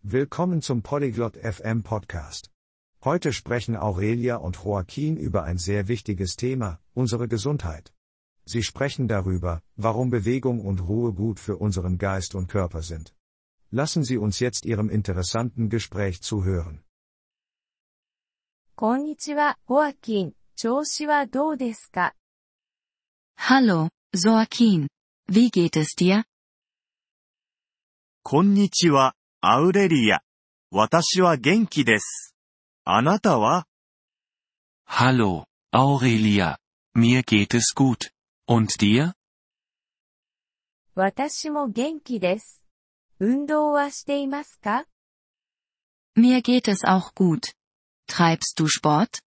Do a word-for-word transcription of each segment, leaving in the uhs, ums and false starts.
Willkommen zum Polyglot F M Podcast. Heute sprechen Aurelia und Joaquin über ein sehr wichtiges Thema, unsere Gesundheit. Sie sprechen darüber, warum Bewegung und Ruhe gut für unseren Geist und Körper sind. Lassen Sie uns jetzt Ihrem interessanten Gespräch zuhören. こんにちは、ホアキン。調子はどうですか？ Hallo, Joaquin. Wie geht es dir? こんにちは、アウレリア。私は元気です。あなたは？ Hallo, Aurelia. Mir geht es gut. Und dir? 私も元気です。運動はしていますか？ Mir geht es auch gut. Treibst du Sport?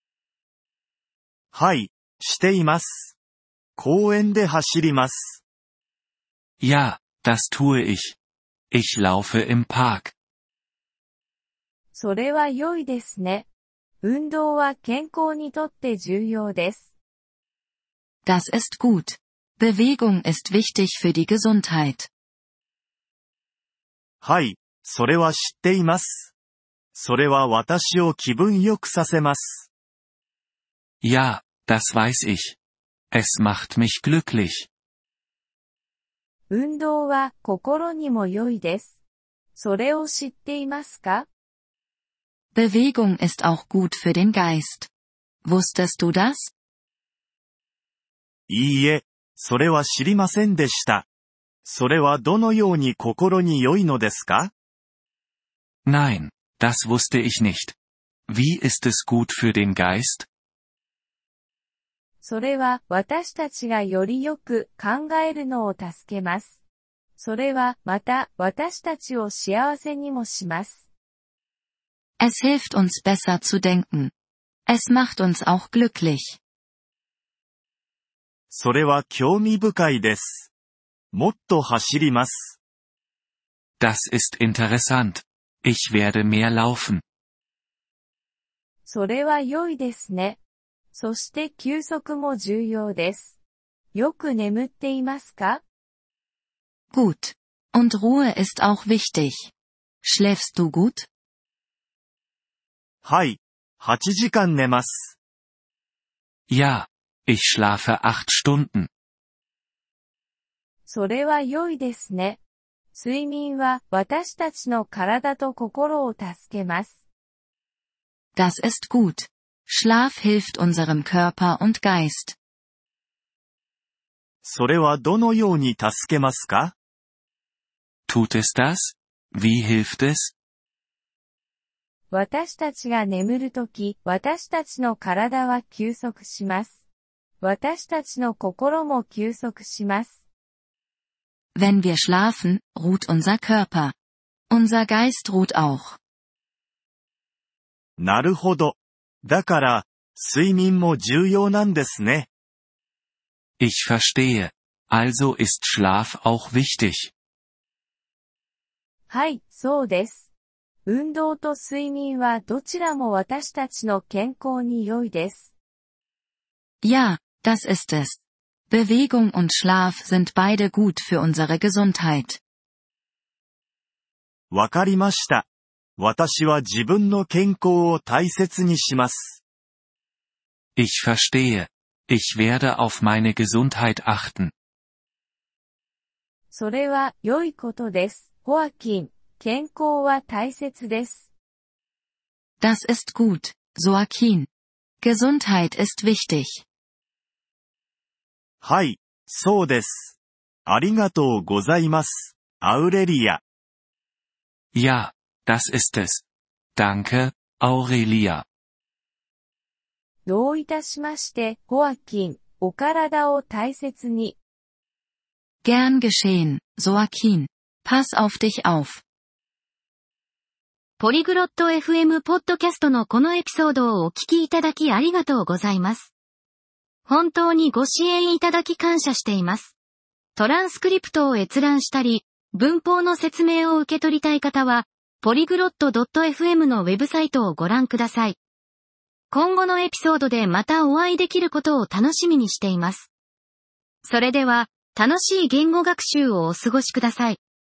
はい、しています。公園で走ります。 Ja, das tue ich. Ich laufe im Park. それは良いですね。運動は健康にとって重要です。 Das ist gut. Bewegung ist wichtig für die Gesundheit. はい、それは知っています。それは私を気分良くさせます。 Ja, das weiß ich. Es macht mich glücklich. 運動は心にも良いです。それを知っていますか？ Bewegung ist auch gut für den Geist. Wusstest du das? いいえ、それは知りませんでした。それはどのように心に良いのですか？ Nein, das wusste ich nicht. Wie ist es gut für den Geist? それは私たちがよりよく考えるのを助けます。それはまた私たちを幸せにもします。 Es hilft uns besser zu denken. Es macht uns auch glücklich. それは興味深いです。もっと走ります。 Das ist interessant. Ich werde mehr laufen. それは良いですね。そして休息も重要です。よく眠っていますか？ Gut. Und Ruhe ist auch wichtig. Schläfst du gut? はい、はちじかん寝ます。 Ja, ich schlafe acht Stunden. それは良いですね。睡眠は私たちの体と心を助けます。 Das ist gut. Schlaf hilft unserem Körper und Geist. それはどのように助けますか？ Tut es das? Wie hilft es? 私たちが眠るとき、私たちの体は休息します。私たちの心も休息します。 Wenn wir schlafen, ruht unser Körper. Unser Geist ruht auch. なるほど。だから、睡眠も重要なんですね。 Ich verstehe. Also ist Schlaf auch wichtig. はい、そうです。運動と睡眠はどちらも私たちの健康に良いです。 Ja, das ist es. Bewegung und Schlaf sind beide gut für unsere Gesundheit. わかりました。私は自分の健康を大切にします。 Ich verstehe. Ich werde auf meine Gesundheit achten. それは良いことです。ホアキン、健康は大切です。 Das ist gut, Joaquin. Gesundheit ist wichtig. はい、そうです。ありがとうございます、アウレリア。 Ja, das ist es. Danke, Aurelia. どういたしまして、ホアキン、お体を大切に。 Gern geschehen, Joaquin. Pass auf dich auf. ポリグロット エフエム ポッドキャストのこのエピソードをお聞きいただきありがとうございます。本当にご支援いただき感謝しています。トランスクリプトを閲覧したり、文法の説明を受け取りたい方は、ポリグロット ドットエフエム のウェブサイトをご覧ください。今後のエピソードでまたお会いできることを楽しみにしています。それでは、楽しい言語学習をお過ごしください。